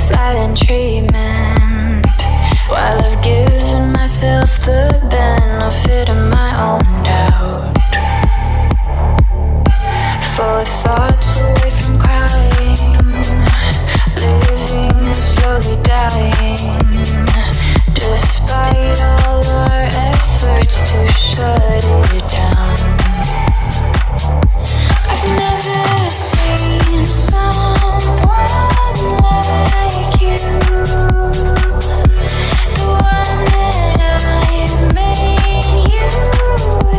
silent treatment, while I've given myself the benefit of my own doubt. For thoughts away from crying, living and slowly dying, despite all our efforts to shut it down. I've never seen someone like you, the one that I made you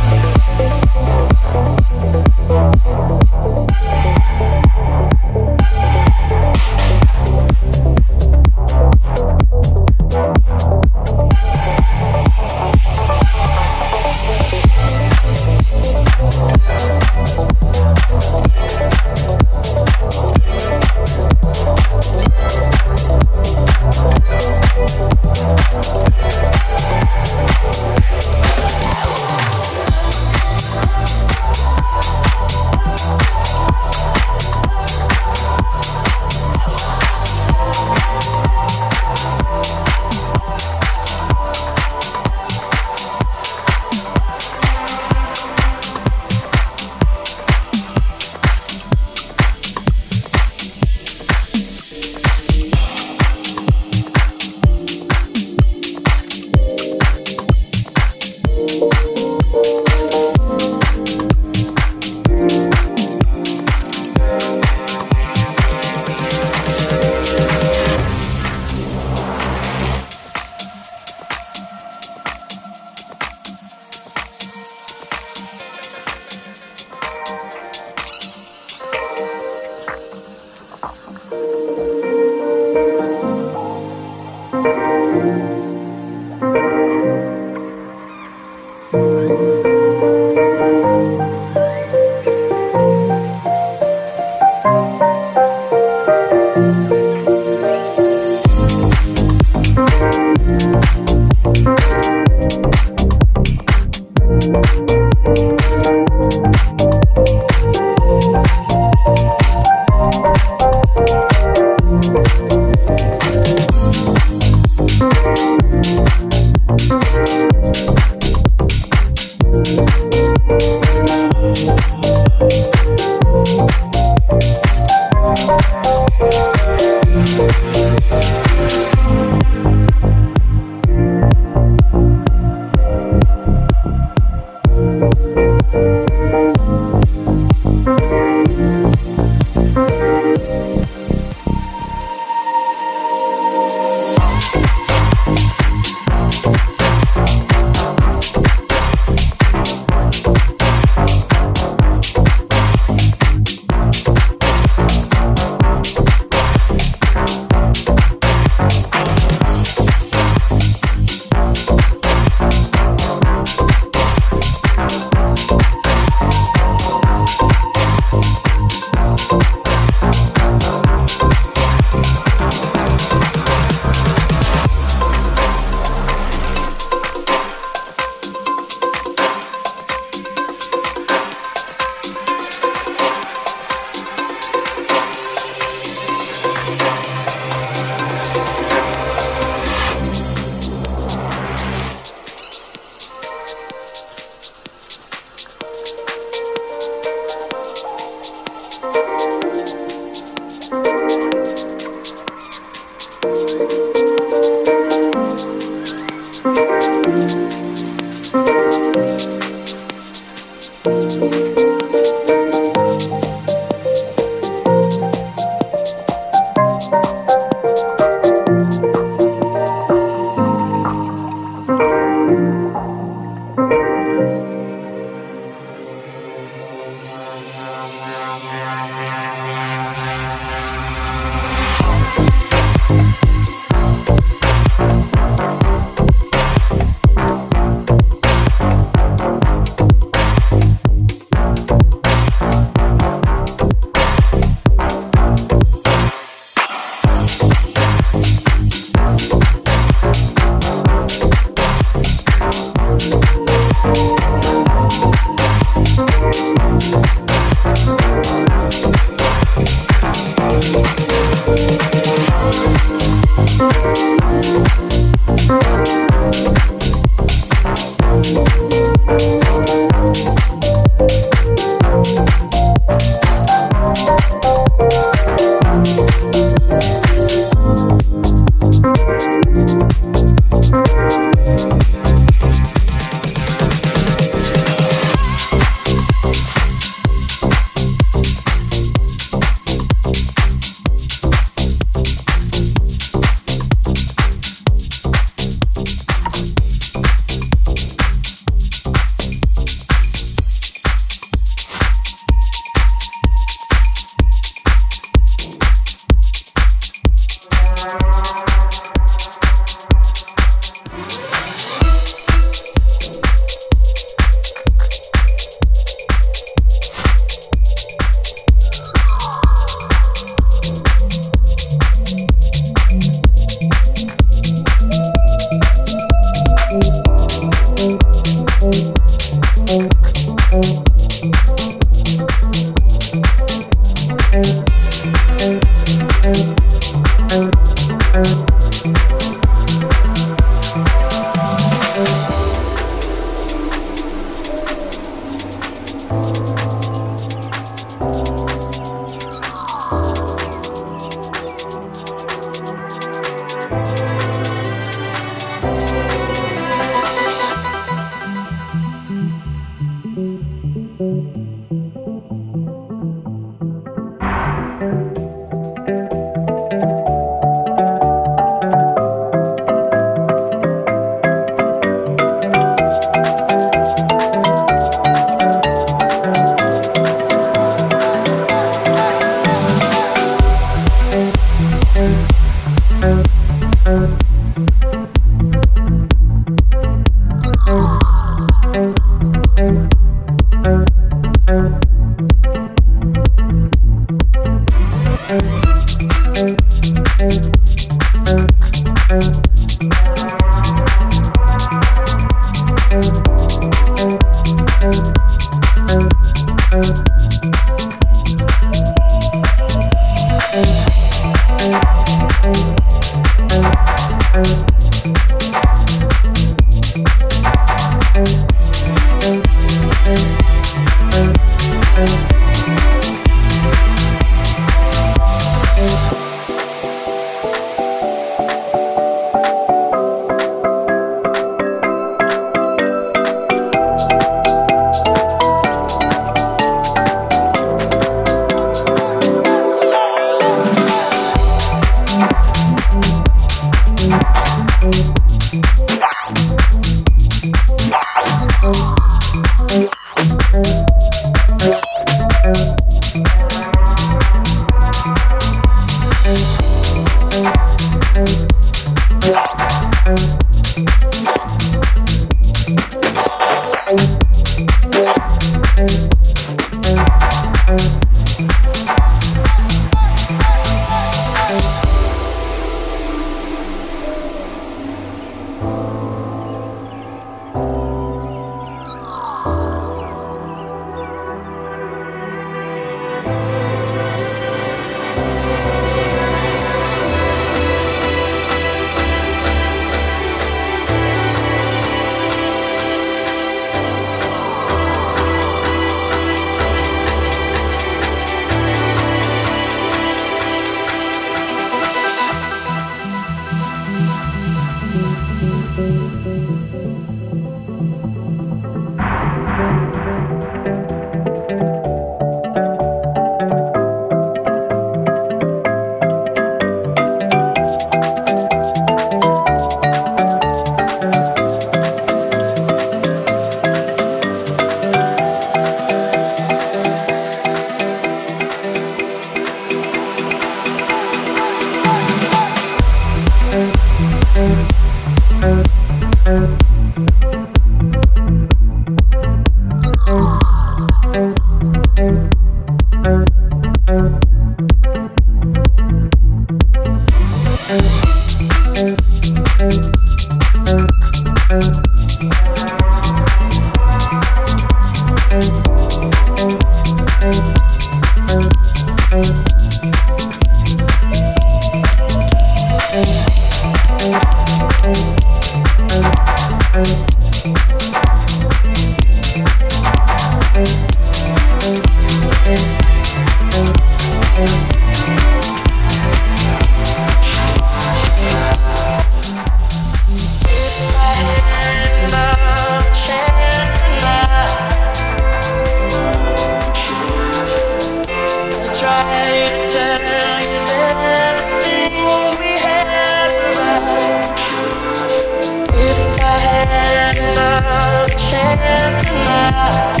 had another chance tonight,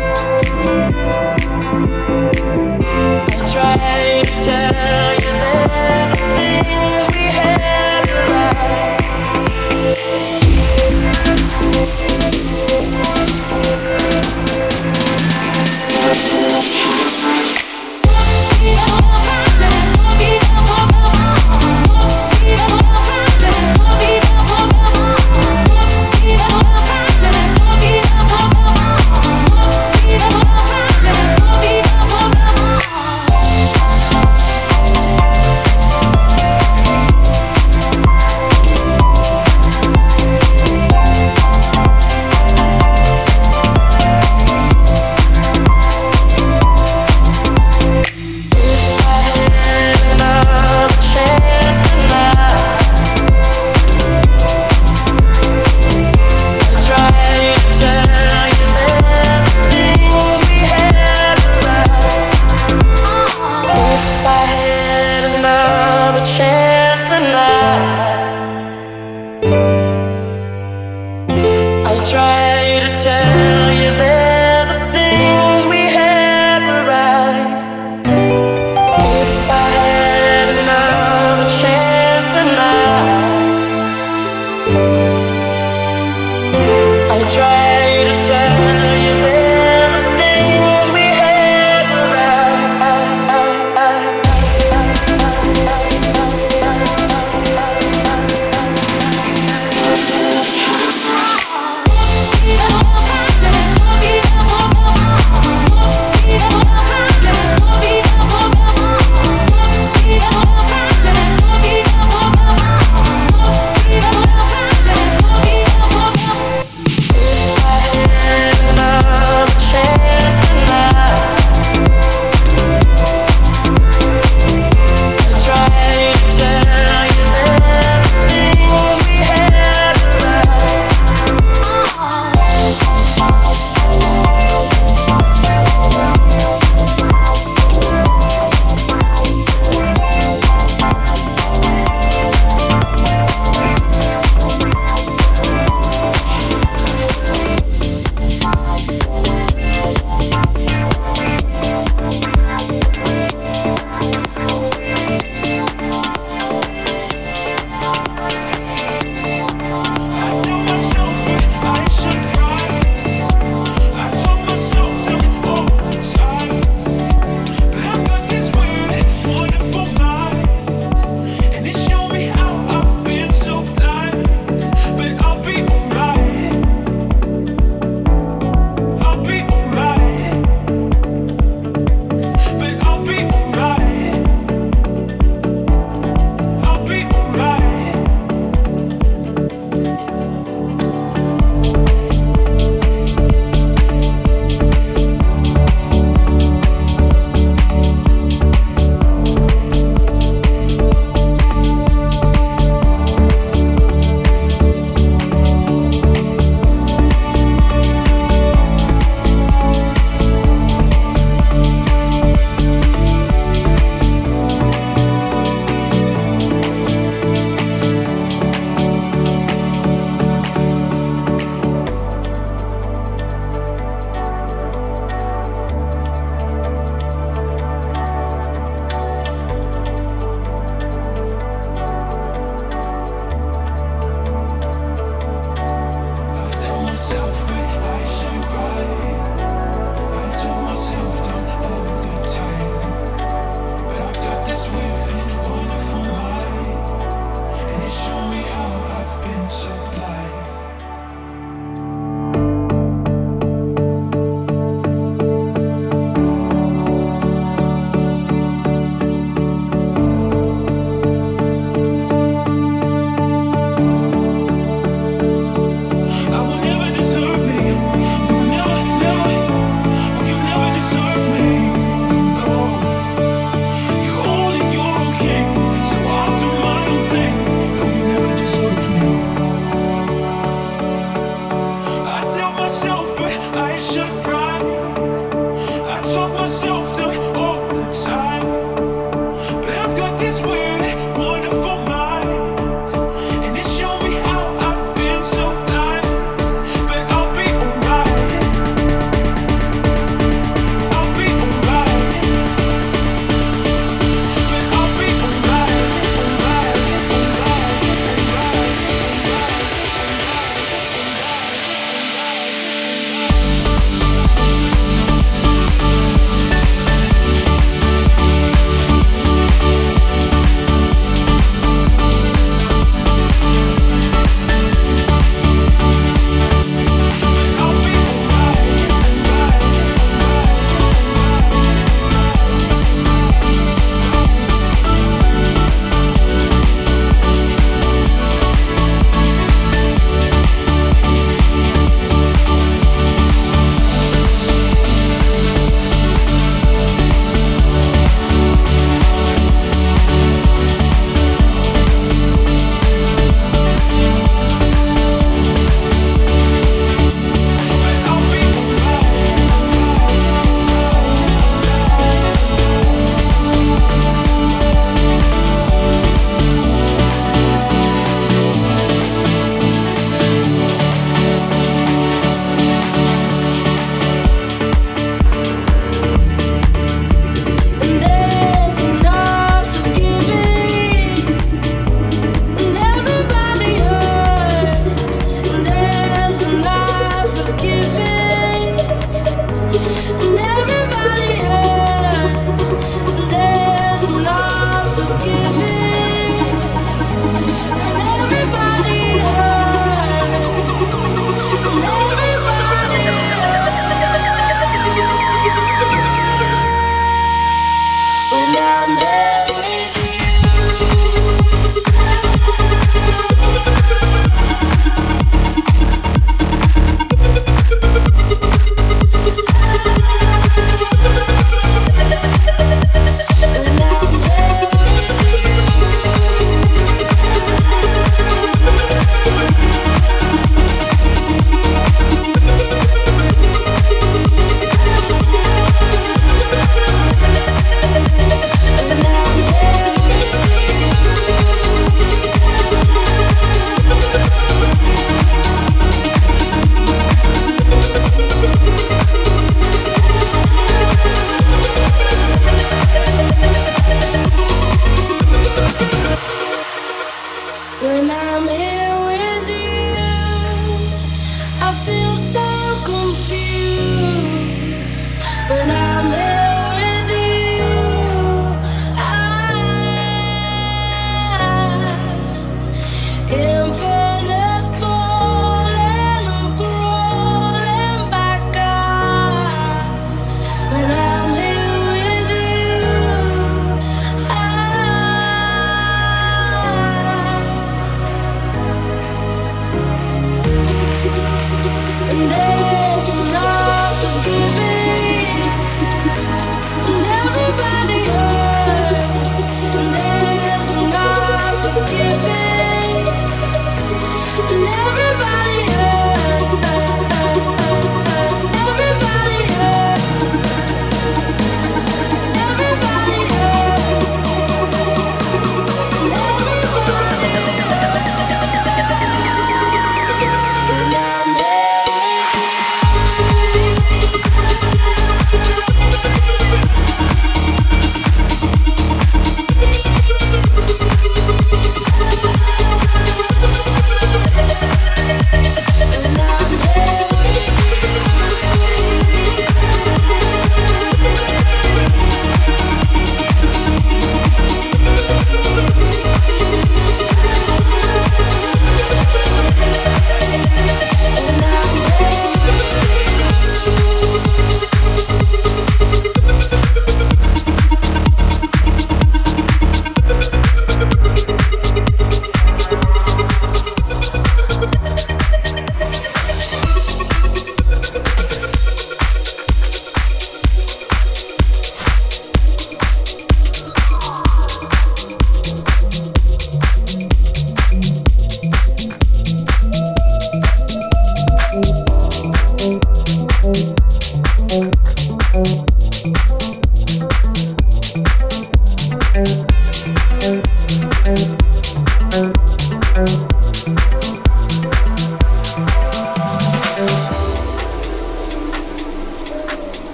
I tried to tell you that the things we had were right. I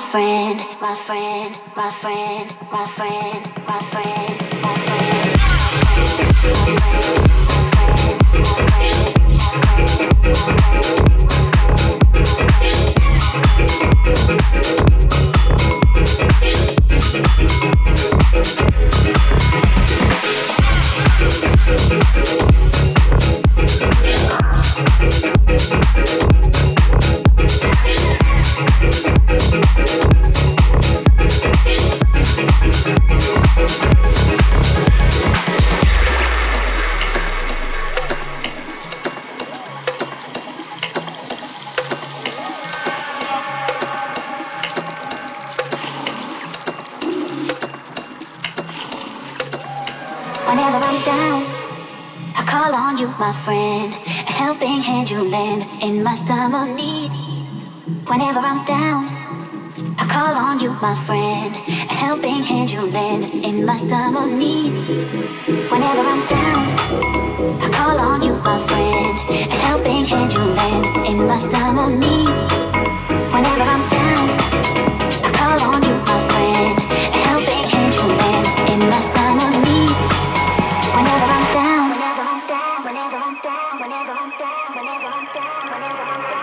friend, my friend, my friend, my friend, my friend, my Whenever I'm down, I call on you, my friend. A helping hand you lend in my time of need. Whenever I'm down, I call on you, my friend. A helping hand you lend in my time of need. Whenever I'm down, I call on you, my friend. A helping hand you lend in my time of need. Whenever I'm down, I call on you, my friend. A helping hand you lend in my time of need. Whenever I'm down, whenever I'm down, whenever I'm down, whenever I'm down, whenever I'm down, whenever I'm down.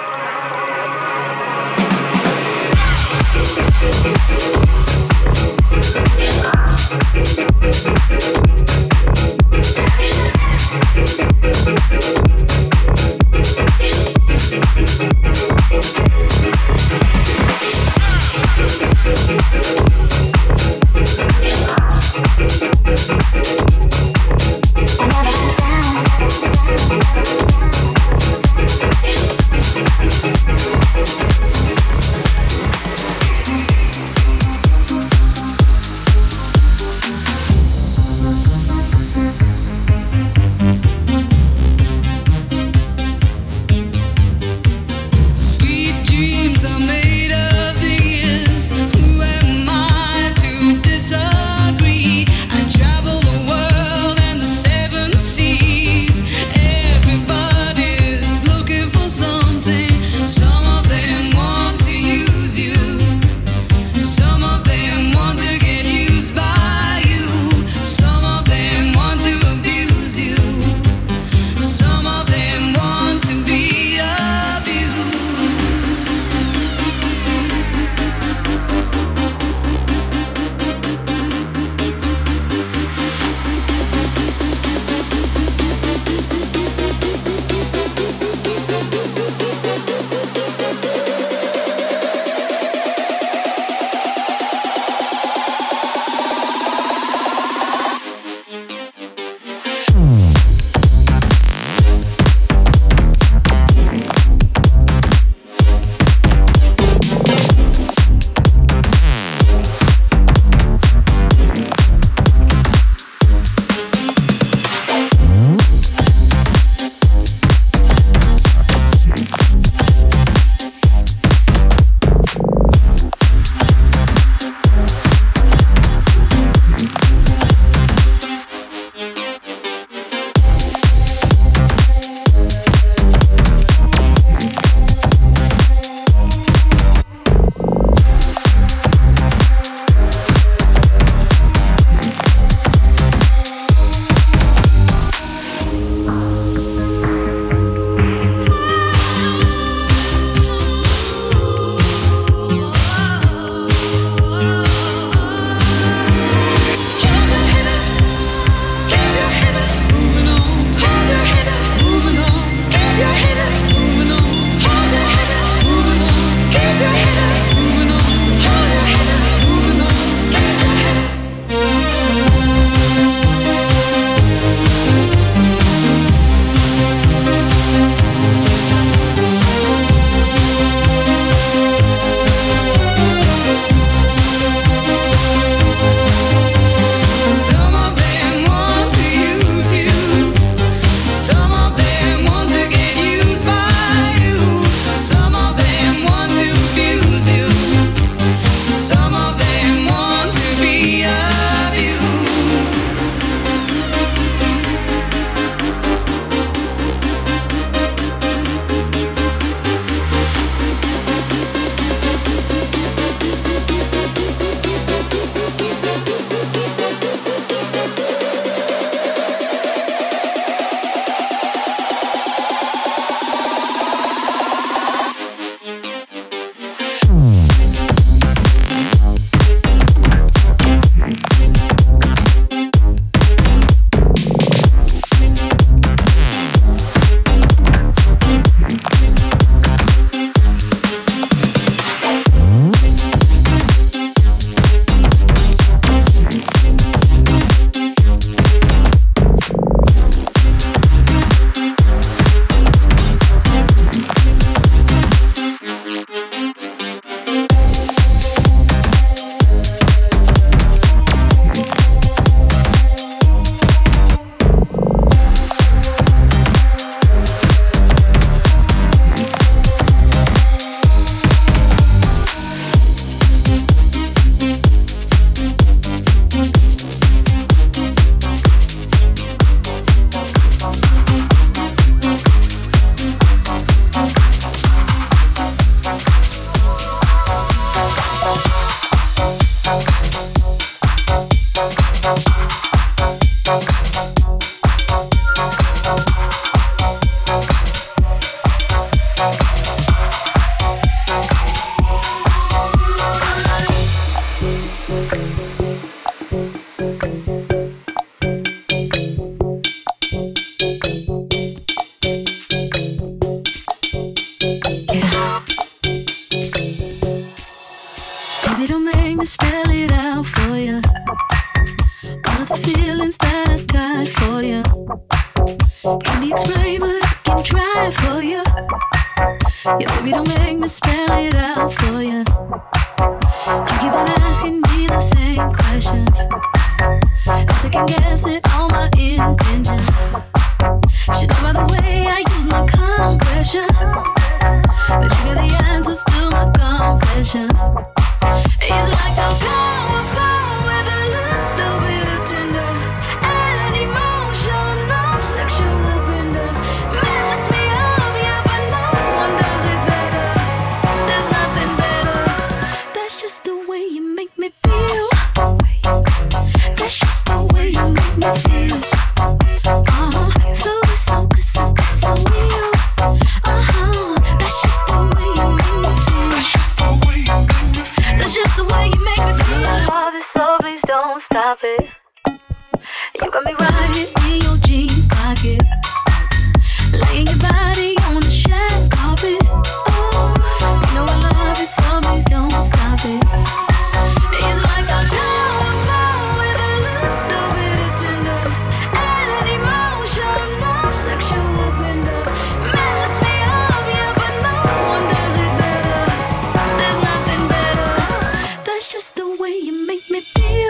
don't make me spell it out for you. All of the feelings that I got for you can't be explained, but I can try for you. Yeah, baby, don't make me spell it out for you. You keep on asking me the same questions, I'm second guessing all my intentions. Should know by the way I use my compression that you got the answers to my confessions. It's like I'm powerful with a little bit of tender and emotional sexual bender. Mess me up, yeah, but no one does it better. There's nothing better. That's just the way you make me feel. That's just the way you make me feel. So good, so good, so good, so real. That's just the way you make me feel. That's just the way you make me feel. Love is so, please don't stop it. You got me riding in your jean pocket, laying your body on the shag carpet. Oh, you know I love it, so please don't stop it. It's like I'm powerful with a little bit of tender and emotional sexual bender. Mess me up, yeah, but no one does it better. There's nothing better. That's just the way you make me feel.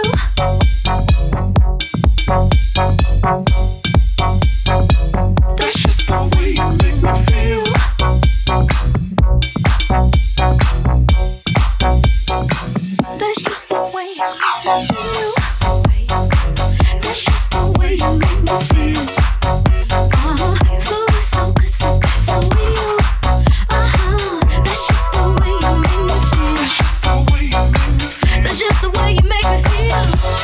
That's just the way you make me feel. That's just the way you make me feel. That's just the way you make me feel. So good, so good, so good, so real. That's just the way you make me feel. That's just the way you make me feel.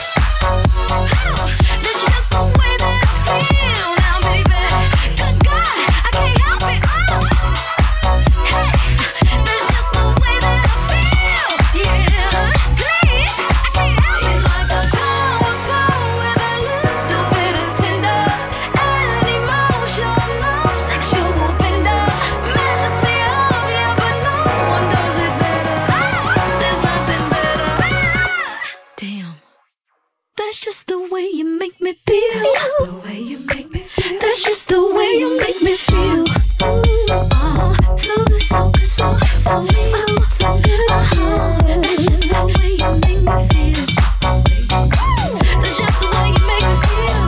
That's just the way that I feel now, baby. Good God, I can't help it. Hey, that's just the way that I feel. Yeah, please, I can't help it. It's like a powerful with a little bit of tender and emotional sexual bender. Mess me up, yeah, but no one does it better. There's nothing better. Damn. That's just the way you make me feel. The way you make me feel. That's just the way you make me feel. So good, so good, so good, so real. That's just the way you make me feel. That's just the way you make me feel.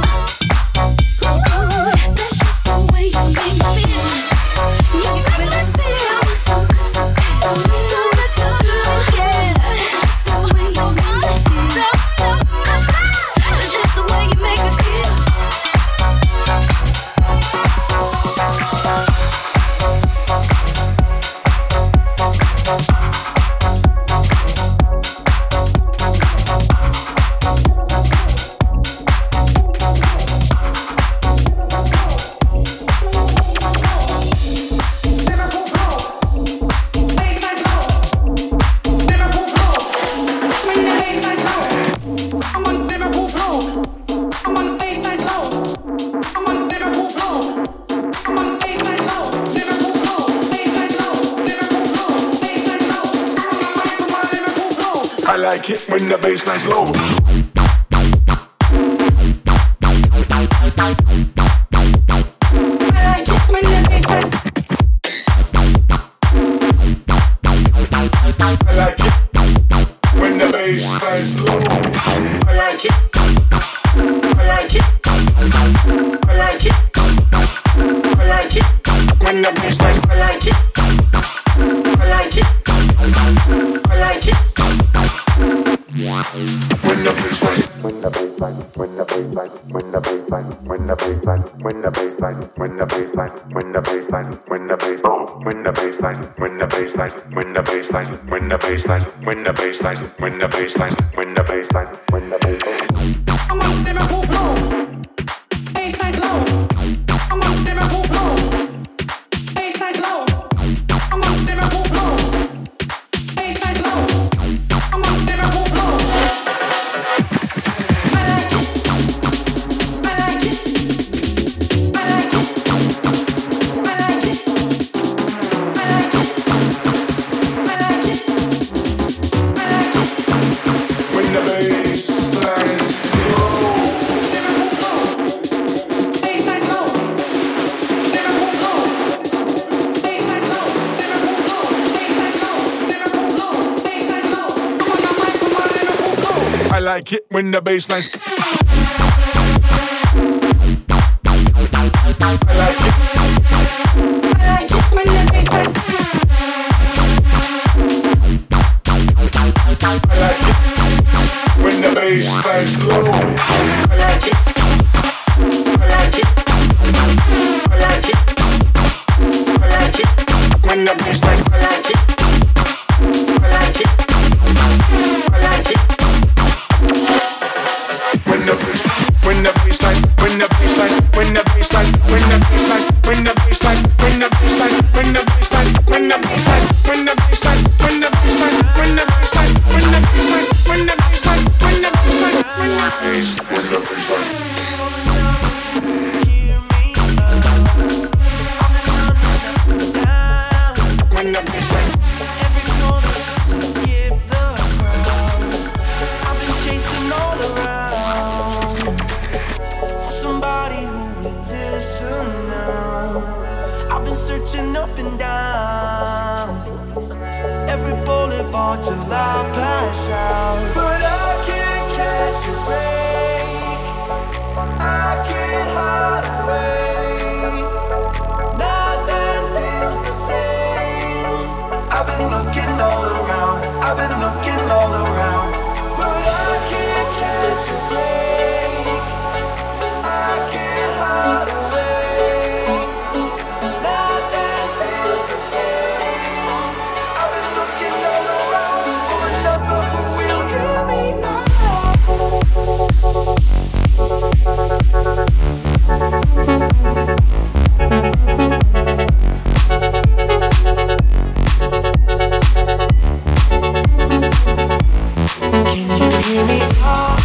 That's just the way you make me feel. You make me feel so good, so good, so good, so good, so good. Yeah, that's just the way you make me feel. That's just the way you make me feel. I like it when the bassline's low. I like it when the bassline's low. I like it. I like it. I like it. I like it when the bassline's. I like it. I like it. I like it. When the bassline, when the bassline, when the bassline, when the bassline, when the bassline, when the bassline, when the bassline, when the bassline, when the bassline, when the bassline, when the bassline, when the bassline, when the bassline, when the bassline, when the bassline, when the bassline, when the bassline. I'm on Liverpool flow. Bassline's low. I'm on Liverpool flow. Bassline's low. I'm on Liverpool flow. Bassline's low. I'm on Liverpool flow. like it when the bassline's. I like it. I like it when the bassline's. I like it when the bassline's low. I like it. I like it. I like it. I like it when the bassline's. I like it. I like it. I like it. When the bassline, when the bassline, when the bassline, when the bassline, when the bassline, when the bassline, when the bassline, when the bassline, when the bassline, when the bassline, when the bassline, when the bassline, when the bassline, when the bassline, when the bassline. When the bassline. Every corner just to skip the crowd. I've been chasing all around for somebody who will listen now. I've been searching up and down every boulevard till I pass out. But I can't catch a break. I can't hide away. Nothing feels the same. I've been looking all around. I've been looking all around. But I can't catch a break. I can't hide away. Nothing feels the same. I've been looking all around for another who will hear me out. Can you hear me out?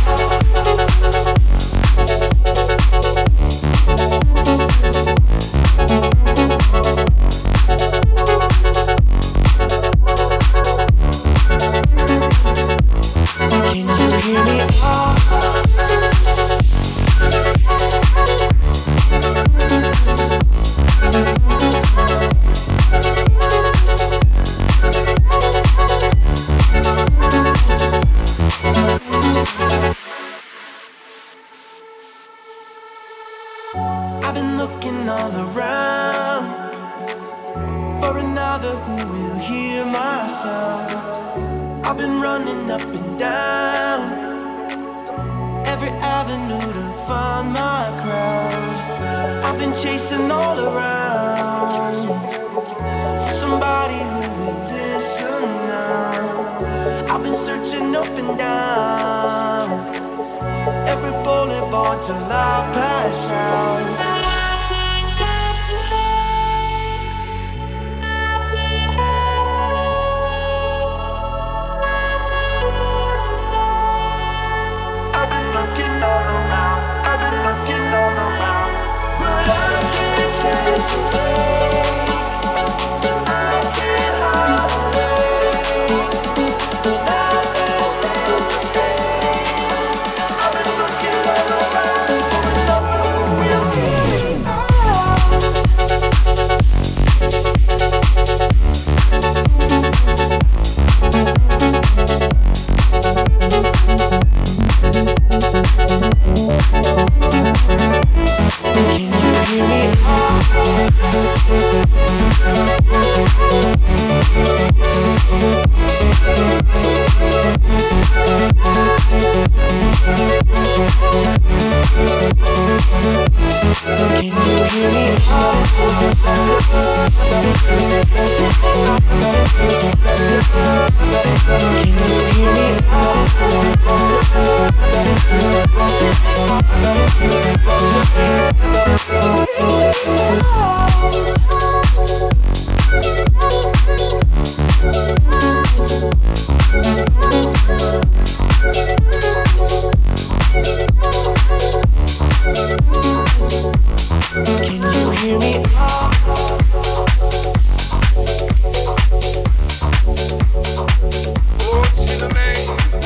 Can you hear me out? I've been looking all around for another who will hear my sound. I've been running up and down every avenue to find my crowd. I've been chasing all around for somebody who will listen now. I've been searching up and down every boulevard till I pass out. I've been looking all around. I've been looking all around, but I can't catch a break. I can't hide away. Nothing feels the same. I've been looking all around for another who will hear me out. Can you hear me out? Can you hear me out? Can you hear me Can you hear me out? Oh, see the man.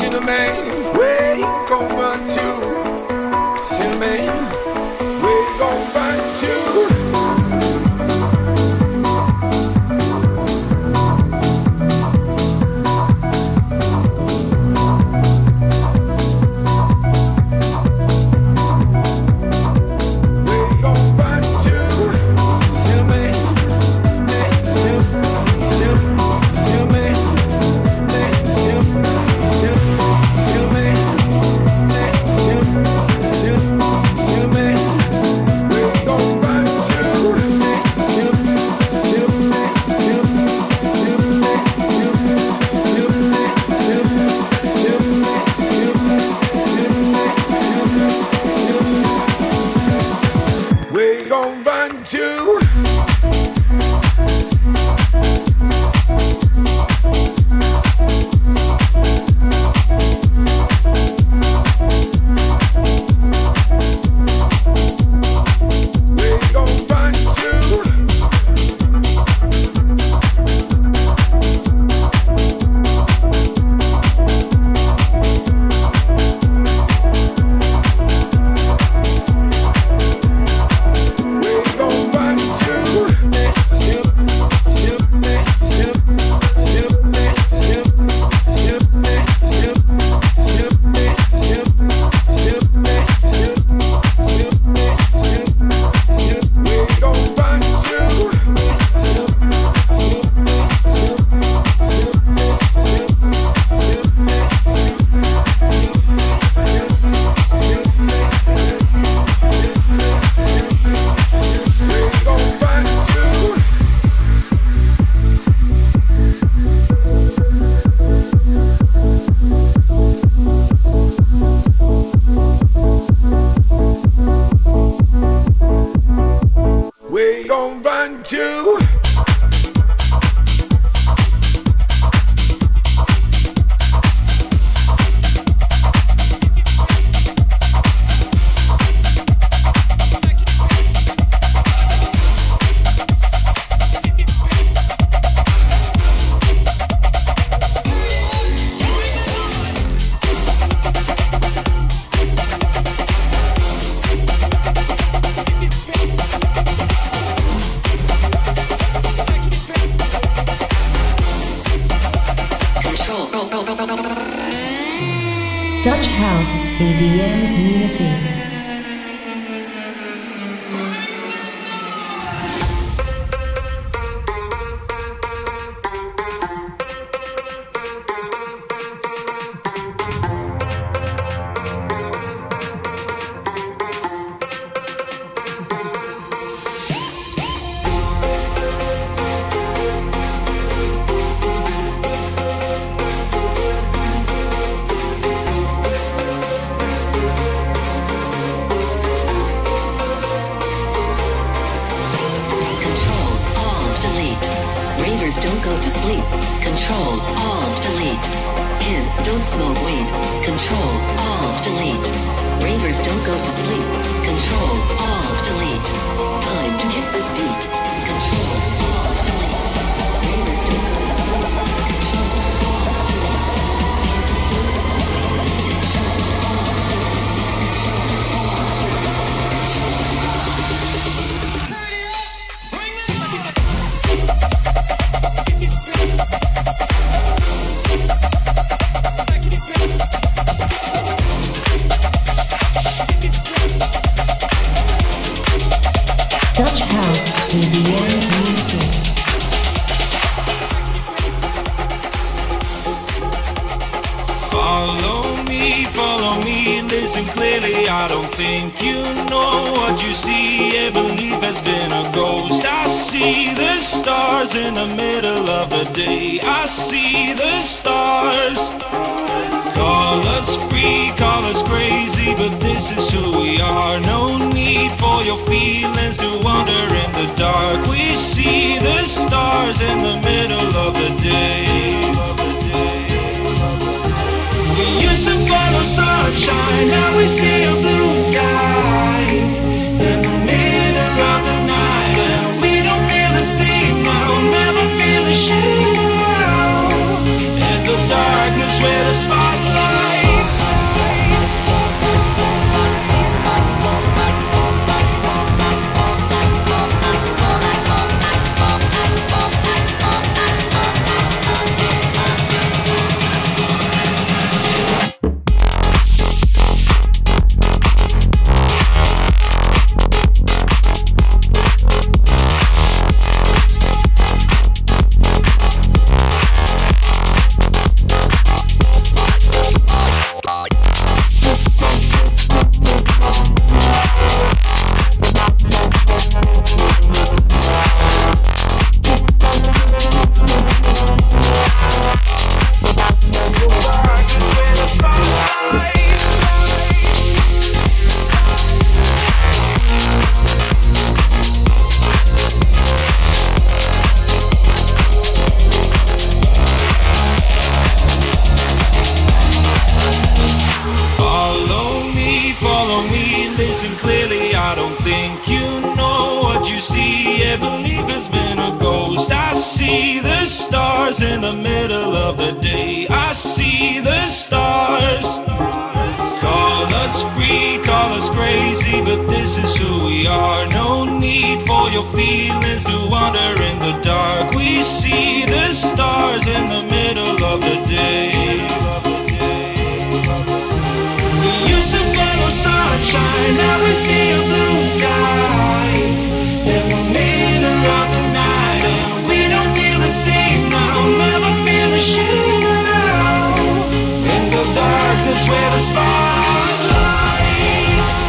Cinnamon, where you gon' run to? Cinnamon, where you gon' run to? Dutch House, EDM Community. Don't go to sleep. Control, Alt, Delete. Kids, don't smoke weed. Control, Alt, Delete. Ravers don't go to sleep. Control, Alt, Delete. Time to hit this beat. Control, Alt, Delete. Ravers don't go to sleep. Control, Alt, Delete. Kids, don't smoke weed. Control, Dutch House, EDM Community. Follow me, listen clearly. I don't think you know what you see. Every belief has been a ghost. I see the stars in the middle of the day. I see the stars. Call us free, call us crazy, but this is who we are. No need for your feelings to wander in the dark. We see the stars in the middle of the day. We used to follow sunshine, now we see a blue sky in the middle of the night, and we don't feel the same now, never feel ashamed now. In the darkness where the spotlight listen clearly, I don't think you know what you see. Yeah, belief has been a ghost. I see the stars in the middle of the day. I see the stars. Call us free, call us crazy, but this is who we are. No need for your feelings to wander in the dark. We see the stars in the middle of the day. We used to follow sunshine, now we see a blue sky in the middle of the night, and we don't feel the same now, never feel the shame now. In the darkness where the spotlights.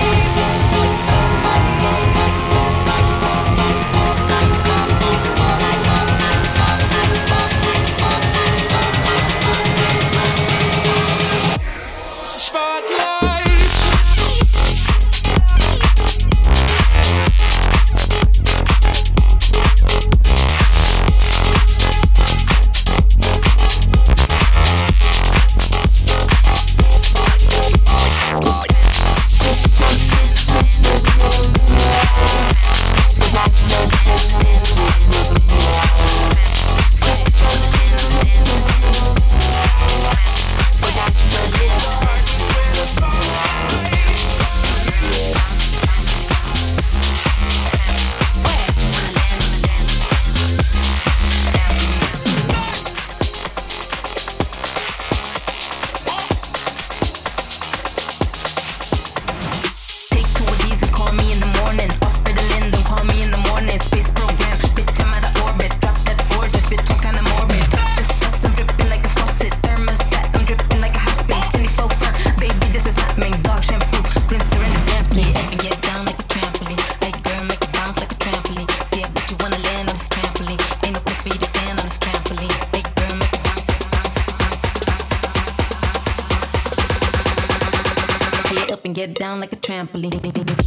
Get down like a trampoline.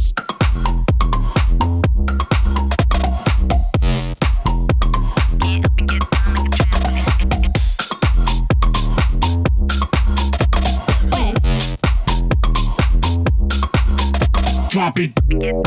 Drop it.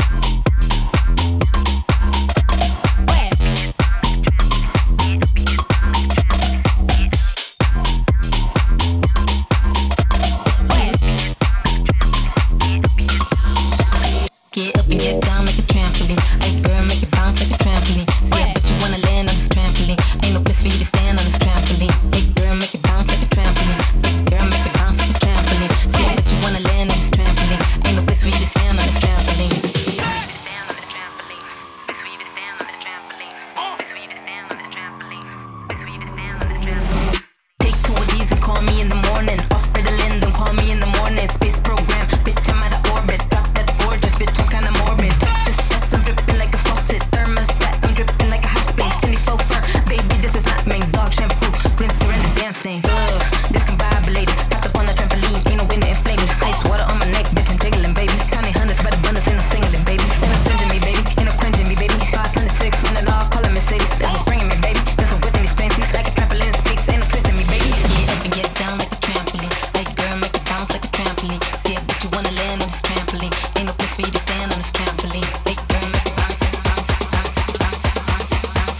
Get up and get down like a trampoline. Hey girl, make it bounce like a trampoline. See, I bet you wanna land on this trampoline. Ain't no place for you to stand on this trampoline. Hey girl, make it bounce like a trampoline. Hey girl, make it bounce like a trampoline. See, I bet you wanna land on this trampoline. Ain't no place for you to stand on this trampoline. Stand on this trampoline. Place for you to stand on this trampoline. Place for you to stand on this trampoline. Place for you to stand on this trampoline. Take two of these and call me in the morning. Off for the land, don't call me in the morning. Space program, bitch, I'm out of orbit. Drop that gorgeous bitch, I'm kinda morbid. This sex, I'm dripping like a faucet. Thermostat, I'm dripping like a hot spring. 24 fur, baby, this is not mink. Dog shampoo, rinse her in the dancing. Discombobulated, popped up on the trampoline. Ain't no wind to inflame me. Ice water on my neck, bitch, I'm jiggling, baby. Counting hundreds by the abundance, ain't no singling, baby. Ain't no singing me, baby. Ain't no quenching me, baby. 506 in the law, calling Mercedes. This is bringing me, baby. This is within these fancies like a trampoline in space. Ain't no tricking me, baby. Get up and get down like a trampoline. Hey girl, make it bounce like a trampoline. See, I bet you wanna land on this trampoline. Ain't no place for you to stand on this trampoline. Hey girl, make it bounce, bounce, bounce, bounce, bounce, bounce,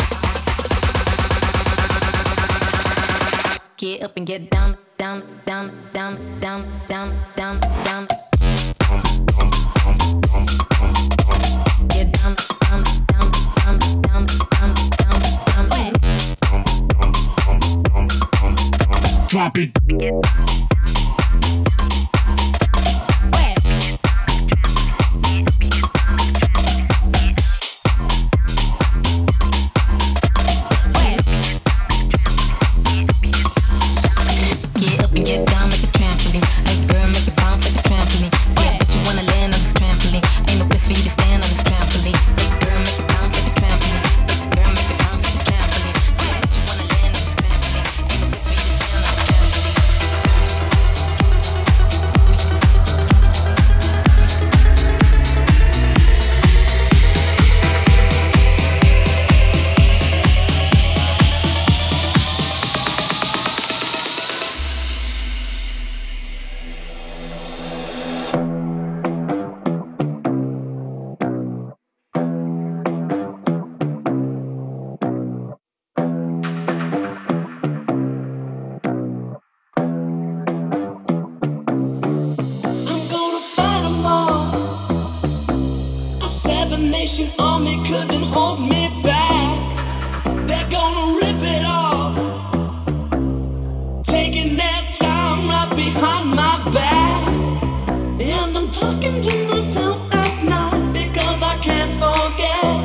bounce. Get up and get down, down, down, down, down, down, down, down. Get down, down, down, down, down, down, down, down. Drop it. Get up and get down like a trampoline. Hey girl, make it bounce like a trampoline. See, I bet you wanna land on this trampoline. Ain't no place for you to stand on this trampoline. Hey girl, make it bounce like a trampoline. Hey girl, make it bounce like a trampoline. See, I bet you wanna land on this trampoline. Ain't no place for you to stand on this trampoline. Expectation on me couldn't hold me back. They're gonna rip it off, taking their time right behind my back. And I'm talking to myself at night because I can't forget.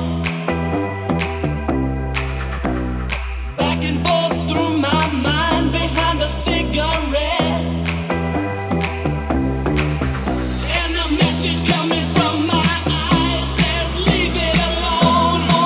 Back and forth through my mind behind a cigarette. And a message coming from my eyes says leave it alone.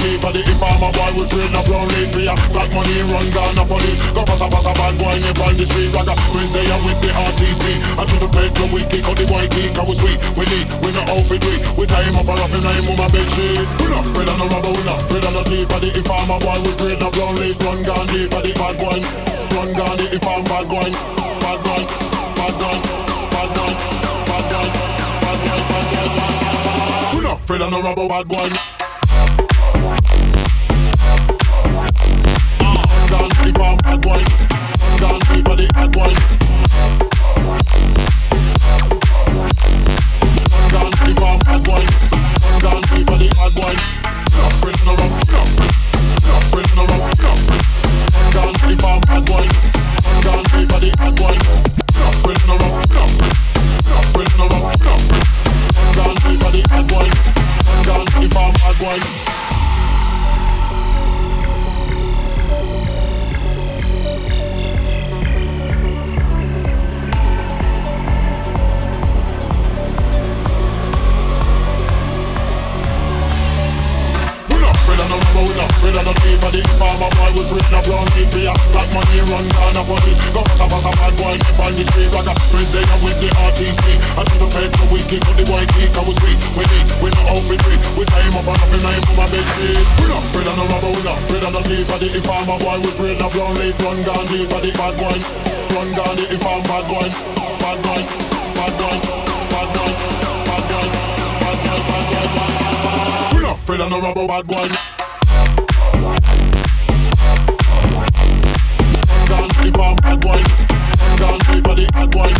leave for the informer boy. We afraid no brown leaf for ya. Black money run down the police. Go pass a bad boy in on the street. Like a Wednesday and with the RTC. I treat the plate no we kick out the white key. Cause we sweet, we lead, we no outfit we. We tie him up and wrap him in on my bed sheet. We not afraid of no robber, we not afraid of no thief. For the informer boy, we afraid no brown leaf. Run down leave for the bad boy. Run down the informer bad boy. Bad boy, bad boy, bad boy, bad boy, bad boy, bad boy. We not afraid of no robber, bad boy. Run down the informer bad boy. Run down leave for the bad boy. Run down the informer bad boy. Run down leave for the bad boy. Not afraid of no robber, not afraid of no robber, not afraid. Run down the informer bad boy. Run down leave for the bad boy. Not afraid of no robber, not afraid of no robber, not afraid. Run down leave for the bad boy. Run down the informer bad boy. We not afraid of no thief for the informer boy. We afraid no brown thief for ya. Black money run down the police. Go pass a bad boy on the street. Like a Wednesday and with the RTC. I treat the plate no we kick out the white key. Cause we sweet, we lead, we no outfit we. We tie him up and wrap him in on my bed sheet. We not afraid of no robber, we not afraid of no thief for the informer boy. We afraid no brown leaf. Run down leave for the bad boy. Run down the informer bad boy. Bad boy, bad boy, bad boy, bad boy, bad boy, bad boy, bad boy. We not afraid of no robber, bad boy. Run down the farm bad boy. Run down leave for the bad boy.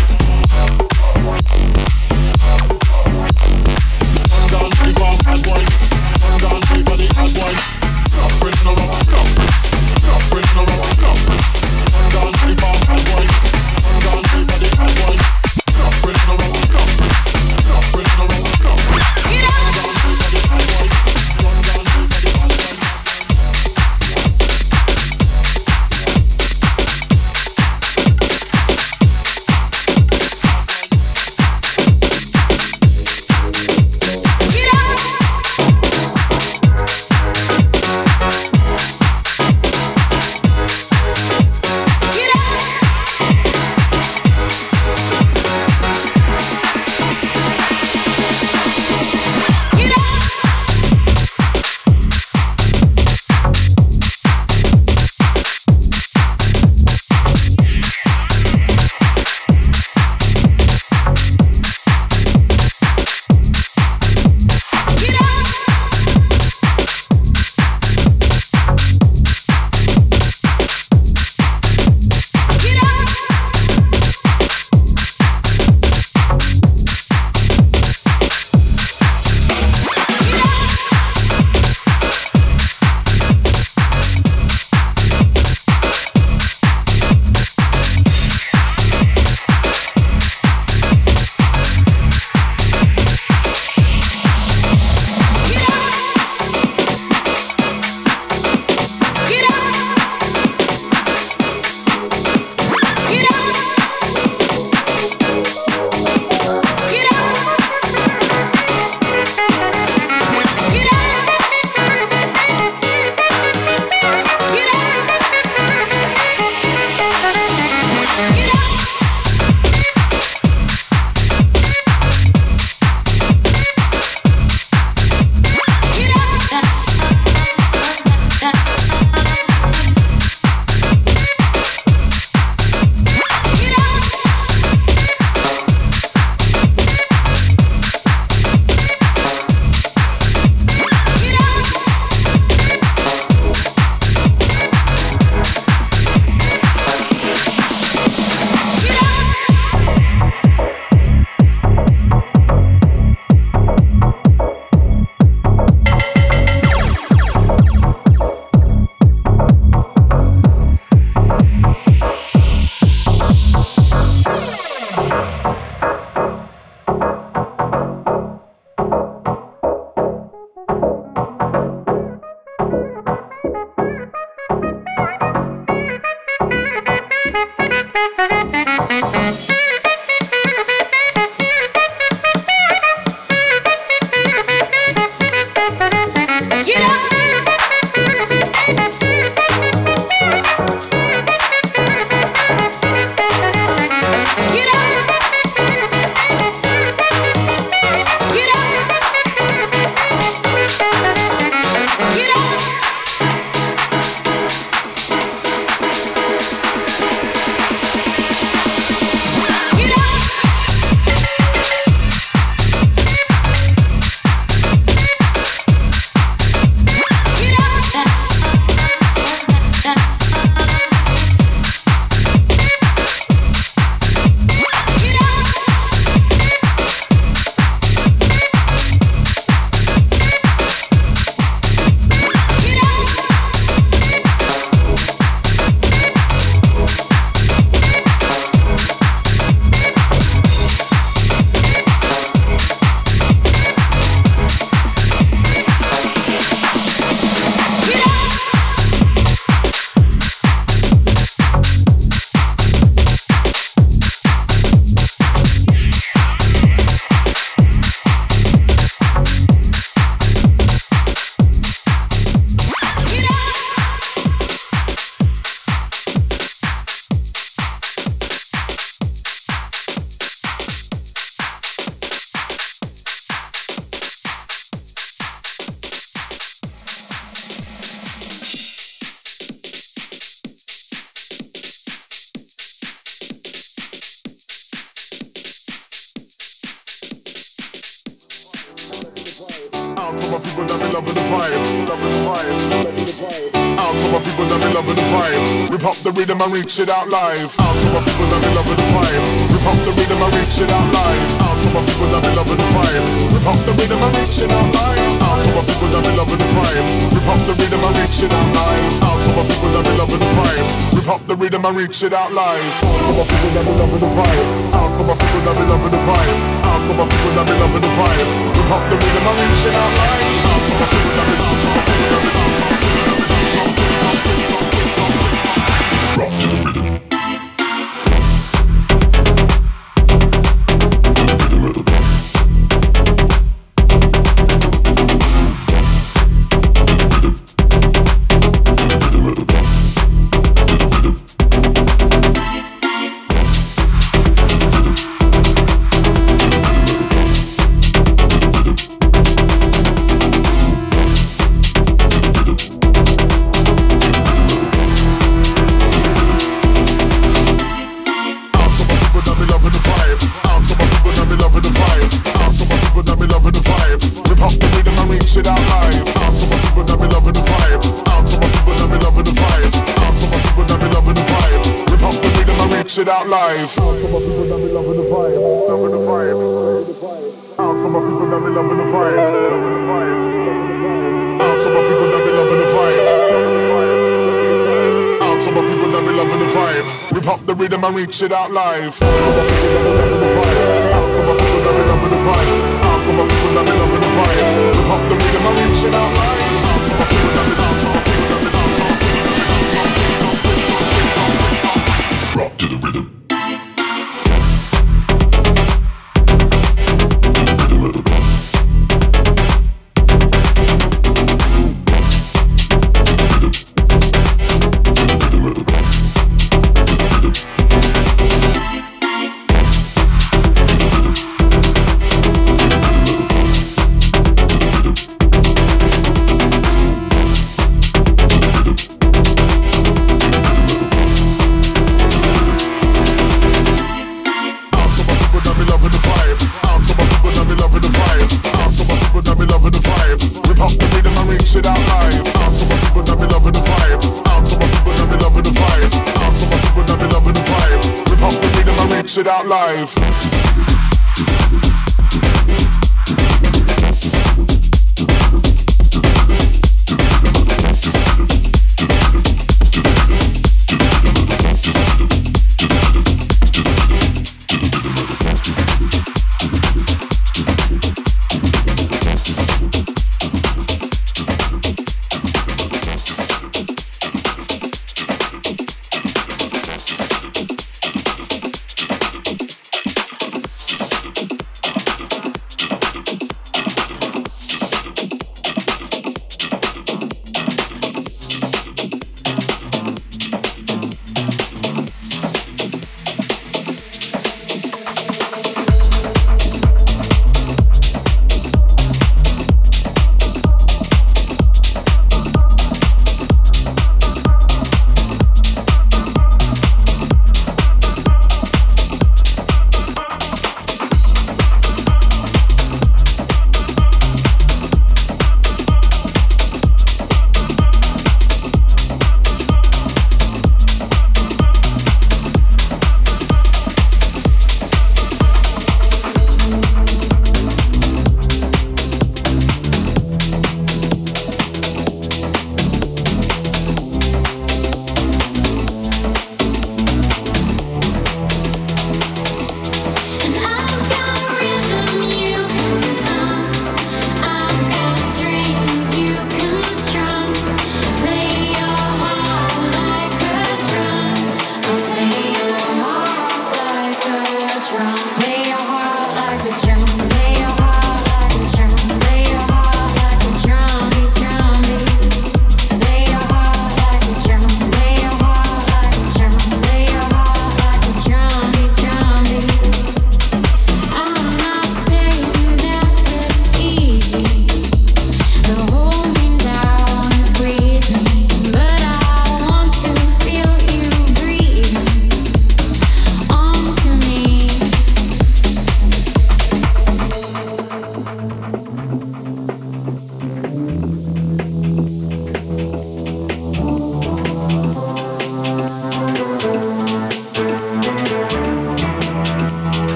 Run down the farm bad boy. Run down leave for the bad boy. Not afraid of no robber, not afraid of no robber, not afraid. Run down the farm bad boy. Run down leave for the bad boy. Not afraid of no robber, not afraid of no robber, not afraid. Run down leave for the bad boy. Run down leave for the bad boy. to my people that be loving the vibe, loving the vibe, loving the vibe. Out to my people that be loving the vibe. Rip up the rhythm and reach it out live. Out to my people that be loving the vibe. Rip up the rhythm and reach it out live. Out to my people that be loving the vibe. Rip up the rhythm and reach it out live. Out to my people that be loving the vibe. Rip up the rhythm and reach it out live. Out to my people that be loving the vibe. Rip up the rhythm and reach it out live. Out to my people that be loving the vibe. Out to my people that be loving the vibe. Out to my people that be loving the vibe. Rip up the rhythm and reach it out live. Out to my people that be out to my people that be out to my people that be rock to the rhythm. It out live. Out to my people that be loving the vibe, loving the vibe. Out to my people that be loving the vibe, loving the vibe. Out to my people that be loving the vibe, out to my people that be loving the vibe. Rip up the rhythm and reach it out live. Out to my people that be loving the vibe, out to my people that be loving the vibe, out to my people that be loving the vibe. Rip up the rhythm and reach it out live. Out to my people that be, out to my people that be, out to my people that be, out to my people that be, rock to the rhythm. It out live.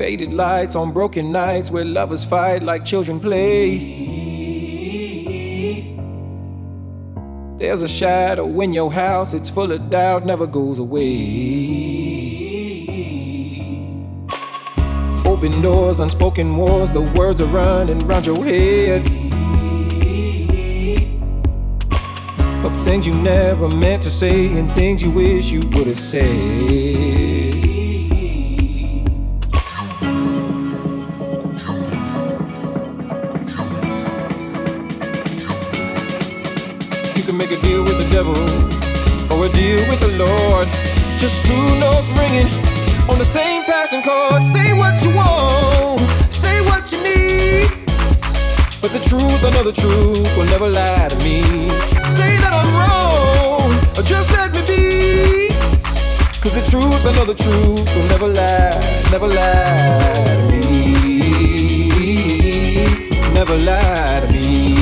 Faded lights on broken nights where lovers fight like children play. There's a shadow in your house, it's full of doubt, never goes away. Open doors, unspoken wars, the words are running round your head. Of things you never meant to say and things you wish you would have said. Make a deal with the devil or a deal with the Lord. Just two notes ringing on the same passing chord. Say what you want, say what you need, but the truth, I know the truth will never lie to me. Say that I'm wrong or just let me be, 'cause the truth, I know the truth will never lie to me. Never lie to me.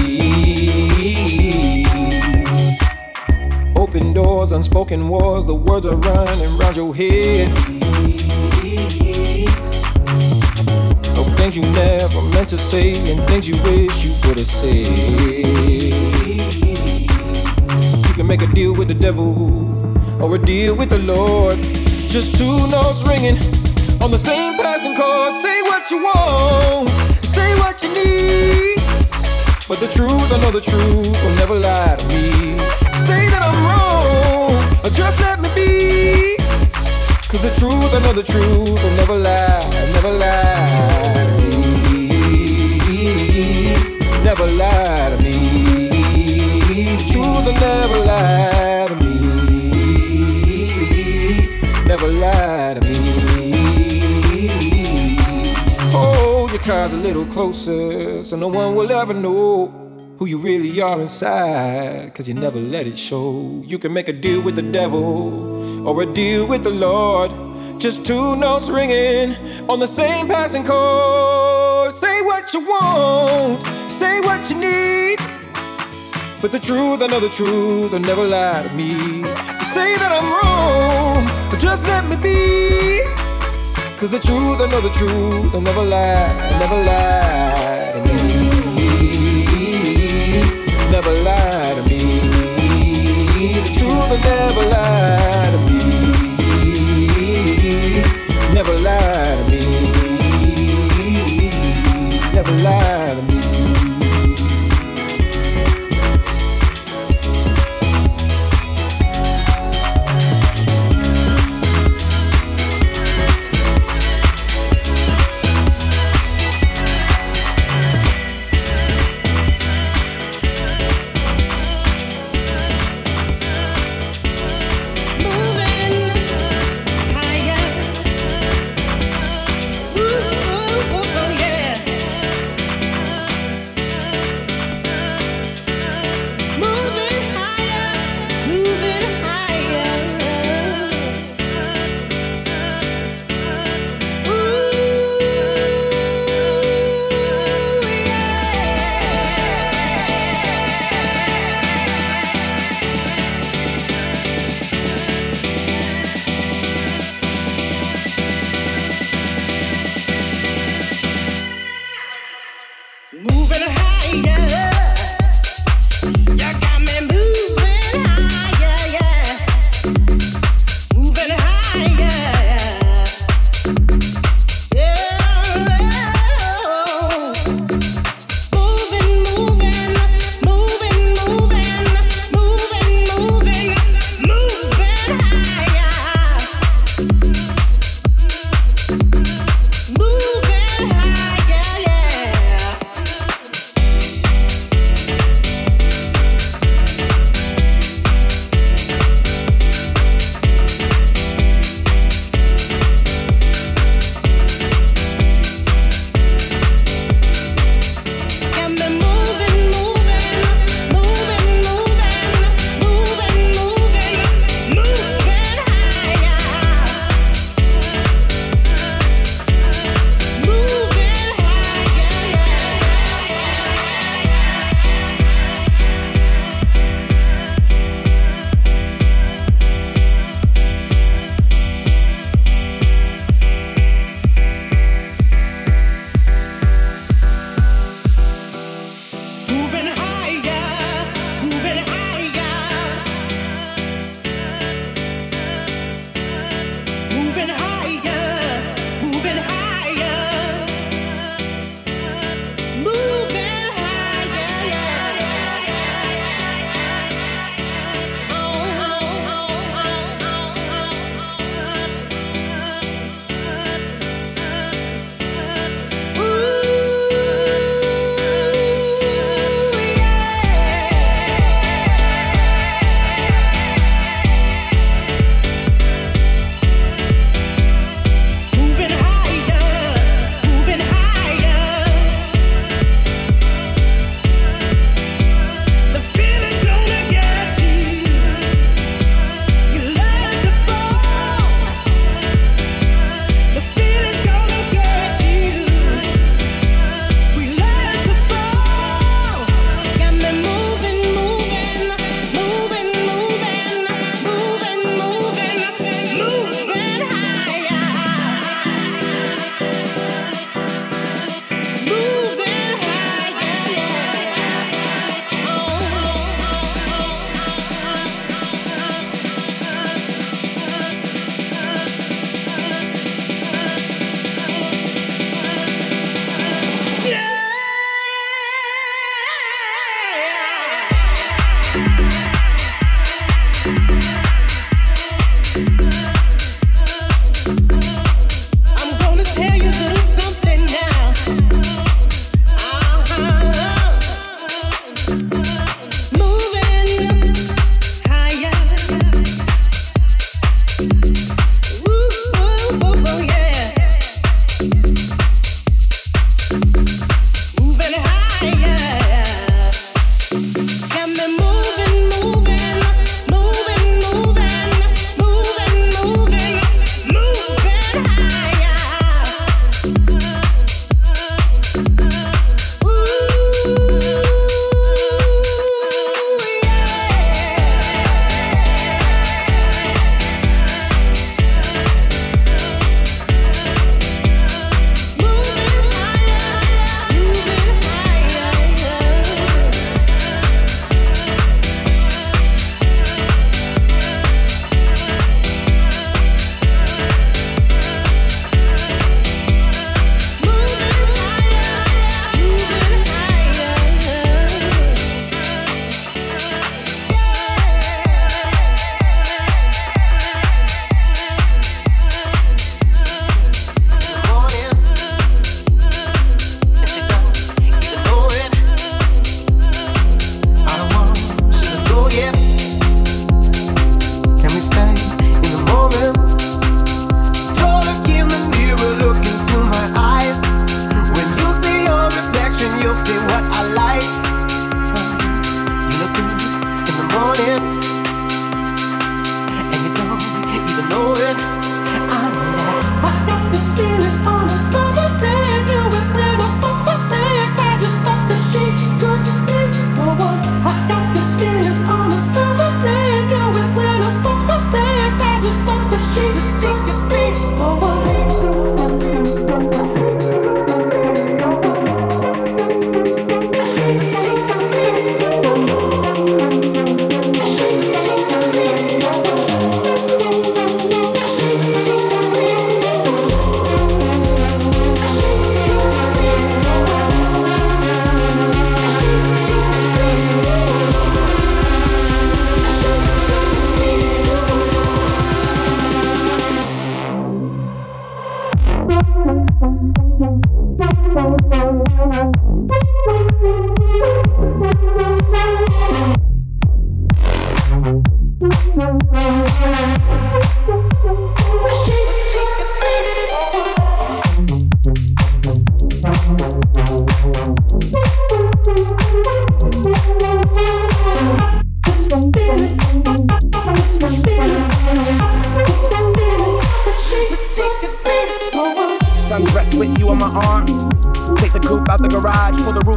Open doors, unspoken wars, the words are running round your head. Of things you never meant to say and things you wish you would have said. You can make a deal with the devil or a deal with the Lord. Just two notes ringing on the same passing chord. Say what you want, say what you need, but the truth, I know the truth will never lie to me. Say that I'm wrong, or just let me be, 'cause the truth, I know the truth will never lie to me. Never lie to me. The truth will never lie to me. Never lie to me. Hold your cards a little closer so no one will ever know who you really are inside, 'cause you never let it show. You can make a deal with the devil or a deal with the Lord. Just two notes ringing on the same passing chord. Say what you want, say what you need, but the truth, I know the truth will never lie to me. You say that I'm wrong, but just let me be, 'cause the truth, I know the truth will never lie to me. Never lie to me. The truth will never lie to me. Never lie to me. Never lie to me.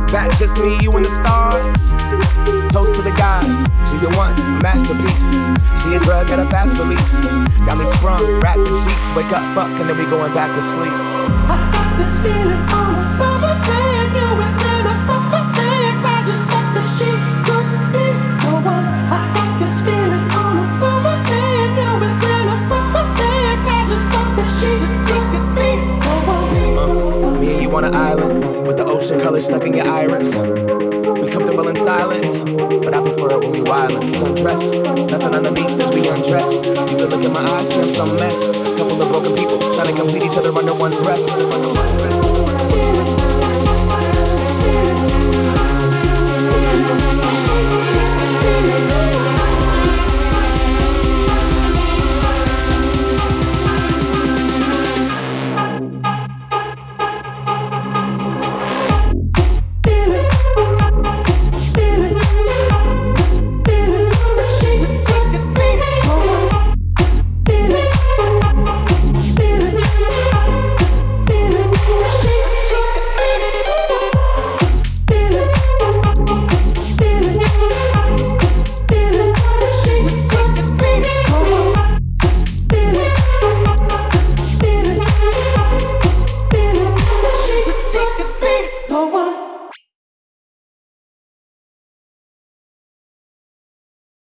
That's just me, you and the stars. Toast to the gods. She's a one, a masterpiece. She a drug at a fast release. Got me sprung, wrapped in sheets. Wake up, fuck, and then we going back to sleep. I got this feeling on a summer day, and you and then I saw her face. I just thought that she could be the one. I got this feeling on a summer day, and you and then I saw her face. I just thought that she could be the one. Me and you on an island with the ocean color stuck in your iris. We comfortable in silence, but I prefer it when we wildin'. Sundress, nothing underneath as we undress. You could look in my eyes, see I'm some mess. Couple of broken people trying to complete each other under one breath.